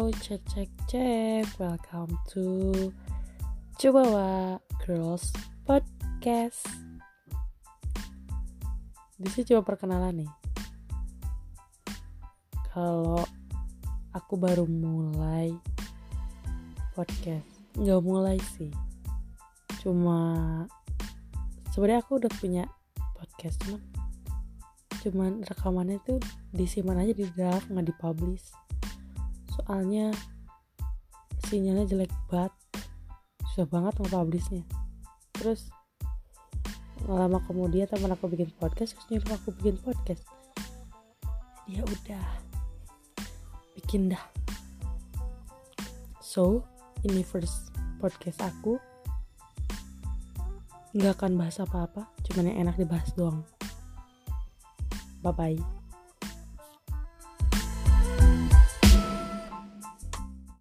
cek cek cek. Welcome to Chihuahua Girls Podcast. Di sini coba perkenalan nih. Kalau aku baru mulai podcast, nggak mulai sih. Sebenarnya aku udah punya podcast, cuman rekamannya tuh disimpan aja di draft, nggak dipublish. Soalnya sinyalnya jelek banget, susah banget nge-publishnya. Terus lama kemudian teman aku bikin podcast, terus nyuruh aku bikin podcast. Ya udah, bikin dah. So, ini first podcast aku. Nggak akan bahas apa-apa, cuman yang enak dibahas doang. Bye-bye.